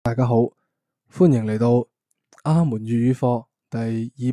大家好，歡迎嚟到阿門粵語課第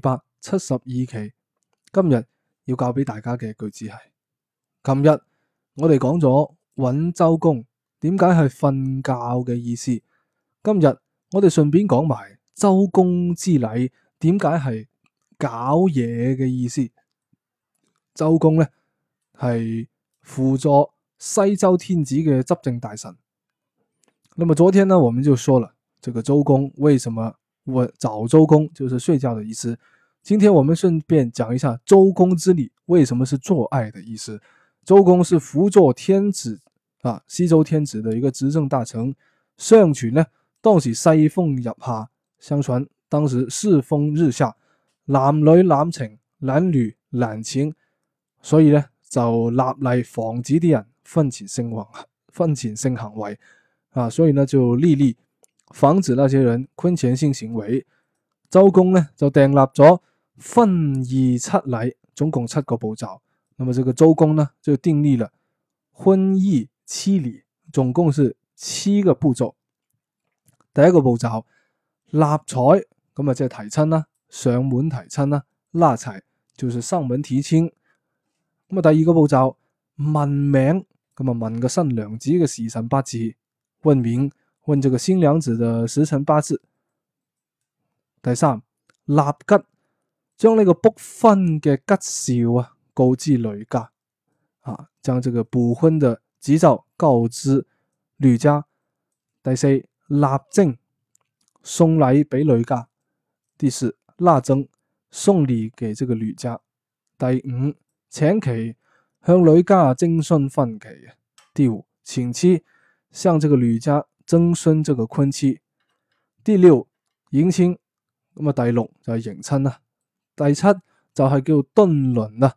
272期。今日要教俾大家嘅句子係：琴日我哋講咗揾周公點解係瞓覺嘅意思，今日我哋順便講埋周公之禮點解係搞嘢嘅意思。周公呢係輔助西周天子嘅執政大臣。那麼昨天呢，我們就說了這個周公為什麼找周公就是睡覺的意思。今天我們順便講一下周公之禮為什麼是做愛的意思。周公是輔佐天子西周天子的一個執政大臣。相傳呢，當時世風入夏，相傳當時世風日下，男女濫情，男女濫情，所以呢就立例防止啲人婚前性行為。所以呢就立例防止那些人婚前性行為。周公呢就訂立咗婚儀七禮，總共7個步驟。那麼這個周公呢就訂立了婚儀七禮，總共是7個步驟。第一個步驟納采，咁啊即係提親啦，上門提親啦，納采就是上門提親。咁啊第二個步驟問名，咁啊問個新娘子嘅時辰八字。問名，問這個新娘子的時辰八字。第三，立吉，將呢個卜婚嘅吉兆告知女家，將這個補婚的吉兆告知女家。第四，納徵，送禮俾女家。第四，納徵，送禮給這個女家。第五，請期，向女家徵詢婚期。第五，請期，向這個女家徵詢這個婚期。第六，迎親，咁啊第六就係迎親啦。第七就係叫敦倫啦，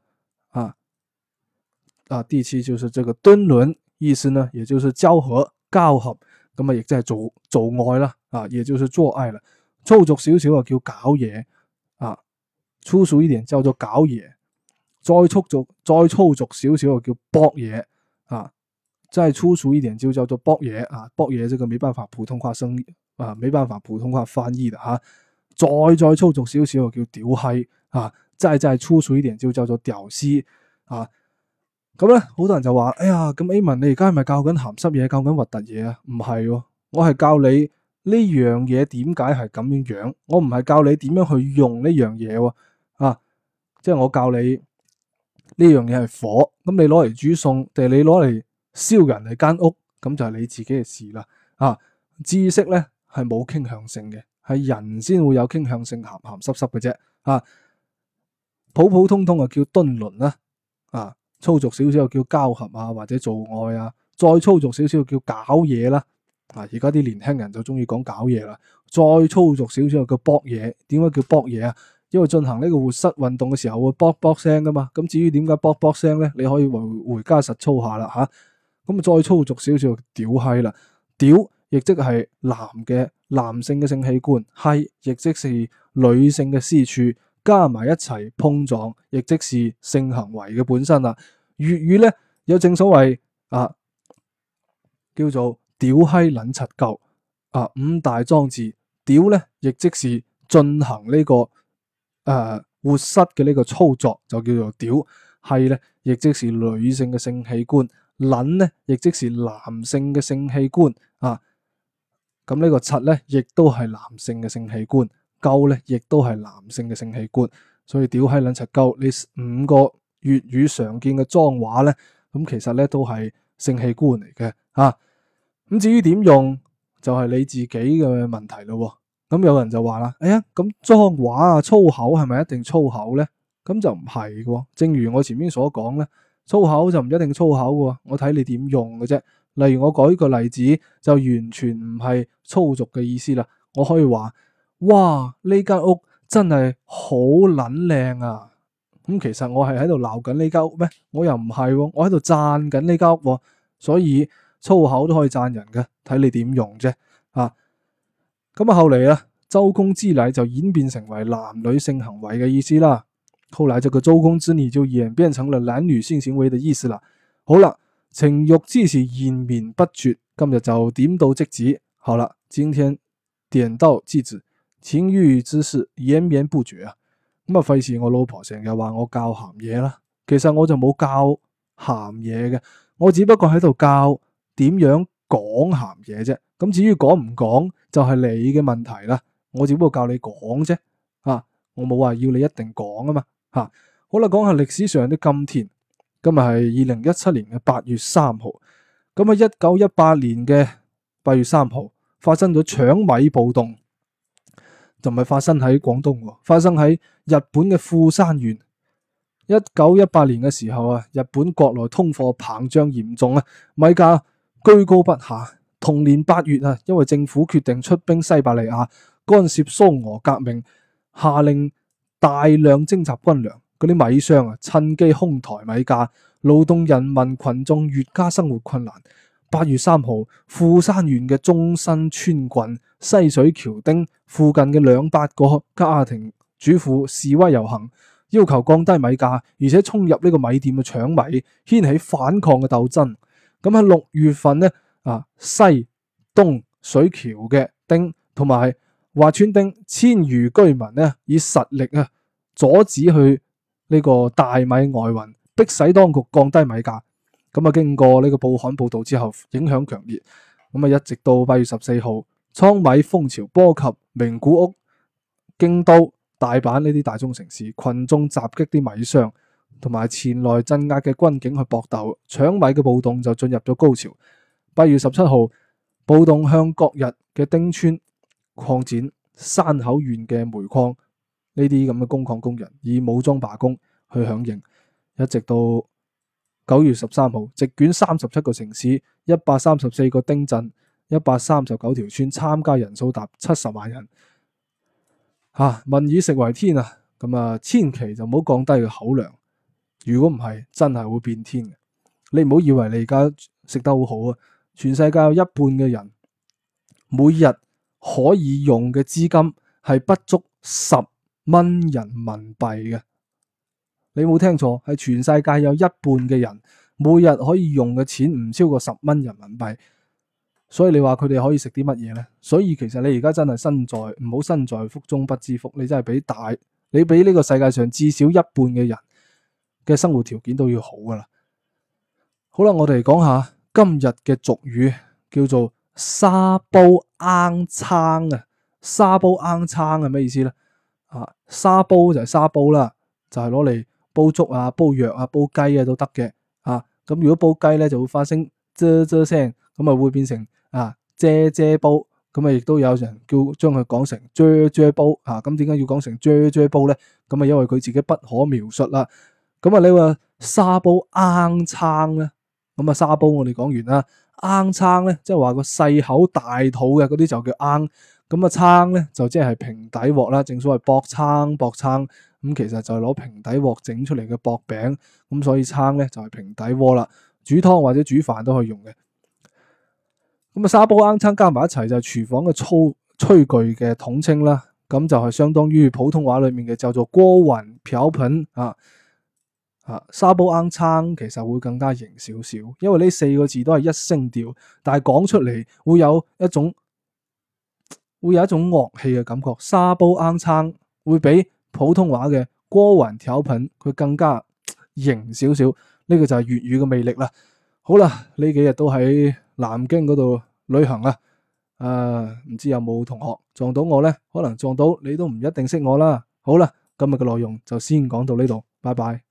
第七就是這個敦倫，意思呢，也就是交合，咁啊亦即係做愛啦，也就是做愛啦。粗俗少少啊叫搞嘢，粗俗一點叫做搞嘢，再粗俗少少啊叫搏嘢，再粗俗一點就叫做搏嘢搏嘢這個沒辦法普通話沒辦法普通話翻譯的再粗俗少少叫屌閪再粗俗一點就叫做屌絲咁咧，好多人就話：哎呀，咁 Amen 你而家係咪教緊鹹濕嘢，教緊核突嘢啊？唔係，我係教你呢樣嘢點解係咁樣樣，我唔係教你點樣去用呢樣嘢即係我教你呢樣嘢係火，咁你攞嚟煮餸定係你攞嚟燒人哋間屋，咁就係你自己嘅事啦。知識咧係冇傾向性嘅，係人先會有傾向性，鹹鹹濕濕嘅啫。普普通通叫敦倫啦，粗俗少少叫交合或者做愛再粗俗少少叫搞嘢啦。而家啲年輕人就中意講搞嘢啦。再粗俗少少叫搏嘢。點解叫搏嘢因為進行呢個活塞運動嘅時候會卜卜聲噶嘛。咁至於點解卜卜聲咧，你可以回家實操下啦咁再粗俗少少屌閪啦。屌亦即係男性嘅性器官，閪亦即是女性嘅私處，加埋一齊碰撞，亦即是性行為嘅本身啦。粵語咧有正所謂叫做屌閪撚柒鳩五大裝置。屌咧亦即是進行呢個活塞嘅呢個操作，就叫做屌。閪咧亦即是女性嘅性器官，撚咧亦即是男性嘅性器官咁呢個柒咧亦都係男性嘅性器官，鳩咧亦都係男性嘅性器官。所以屌閪撚柒鳩呢5個粵語常見嘅髒話咧，咁其實咧都係性器官嚟嘅咁至於點用就係你自己嘅問題咯。咁有人就話啦，哎呀，咁髒話粗口係咪一定粗口咧？咁就唔係嘅。正如我前面所講咧，粗口就唔一定粗口嘅，我睇你點用嘅啫。例如我舉個例子，就完全唔係粗俗嘅意思啦。我可以話：哇，呢間屋真係好撚靚啊！咁其實我係喺度鬧緊呢間屋咩？我又唔係，我喺度讚緊呢間屋。所以粗口都可以讚人嘅，睇你點用啫。咁後嚟周公之禮就演變成為男女性行為嘅意思啦。後來這個周公之禮就演變成了男女性行為的意思啦。好啦。情欲之事延綿不絕，今日就點到即止。好了，今天點到即止，情欲之事延綿不絕啊。咁啊，費事我老婆成日話我教鹹嘢啦。其實我就冇教鹹嘢嘅，我只不過喺度教點樣講鹹嘢啫。咁至於講唔講就係你嘅問題啦。我只不過教你講啫，我冇話要你一定講啊嘛。好啦，講下歷史上的今天。今日係2017年嘅8月3號。咁喺1918年嘅8月3號發生咗搶米暴動，就唔係發生喺廣東，發生喺日本嘅富山縣。1918年嘅時候啊，日本國內通貨膨脹嚴重啊，米價居高不下。同年8月啊，因為政府決定出兵西伯利亞干涉蘇俄革命，下令大量徵集軍糧，嗰啲米商啊趁機哄抬米價，勞動人民群眾越加生活困難。8月3號，富山縣嘅中新村郡西水橋町附近嘅200個家庭主婦示威遊行，要求降低米價，而且衝入呢個米店嘅搶米，掀起反抗嘅鬥爭。咁喺6月份呢，西東水橋嘅町同埋華村町千餘居民呢，以實力阻止去呢個大米外運，迫使當局降低米價。咁經過呢個報刊報道之後，影響強烈。一直到8月14號，倉米風潮波及名古屋、京都、大阪呢啲大中城市，群眾襲擊啲米商，同埋前來鎮壓嘅軍警去搏鬥，搶米嘅暴動就進入咗高潮。8月17號，暴動向各日嘅町村擴展，山口縣嘅煤礦呢啲咁嘅工礦工人以武裝罷工去響應，一直到9月13號，席捲37個城市、134個町鎮、139條村，參加人數達70萬人。民以食為天啊！千祈就唔好降低個口糧，如果唔係，真係會變天嘅。你唔好以為你而家食得好好啊！全世界有一半嘅人每日可以用嘅資金係不足10蚊人民幣嘅。你冇聽錯，係全世界有一半嘅人每日可以用嘅錢唔超過10蚊人民幣。所以你話佢哋可以食啲乜嘢呢？所以其實你而家真係唔好身在福中不知福。你真係你比呢個世界上至少一半嘅人嘅生活條件都要好噶啦。好啦，我哋講下今日嘅俗語，叫做沙煲罌罉啊。沙煲罌罉係咩意思呢？沙煲就係沙煲啦，就係攞嚟煲粥啊、煲藥啊、煲雞啊都得嘅。咁如果煲雞咧就會發聲啫啫聲，咁會變成啫啫煲。咁亦都有人將佢講成啫啫煲。咁點解要講成啫啫煲咧？咁因為佢自己不可描述啦。你話沙煲罌罉咧？沙煲我哋講完啦，罌罉咧即係話個細口大肚嘅嗰啲就叫罌。罉咧就即係平底鑊啦，正所謂薄罉薄罉。其實就係攞平底鑊整出嚟嘅薄餅。所以罉咧就係平底鍋啦，煮湯或者煮飯都可以用嘅。沙煲罌罉加埋一齊就係廚房嘅炊具嘅統稱啦。咁就係相當於普通話裏面嘅叫做鍋碗瓢盆。沙煲罌罉其實會更加型少少，因為呢4個字都係一聲調，但係講出嚟會有一種樂器嘅感覺。沙煲罌罉會比普通話嘅鍋碗瓢盆佢更加型少少。呢個就係粵語嘅魅力啦。好啦，呢幾日都喺南京嗰度旅行啦。唔知有冇同學撞到我呢？可能撞到你都唔一定識我啦。好啦，今日嘅內容就先講到呢度，拜拜。